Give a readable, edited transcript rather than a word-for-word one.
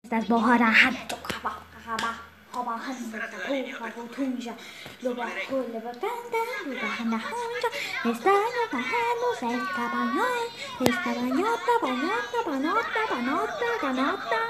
Estas boharan hatto kaba kaba kaba handa kaba tunja luba hula banda luba handa honja estaño tajano se esta bañota bañota bañota bañota bañota bañota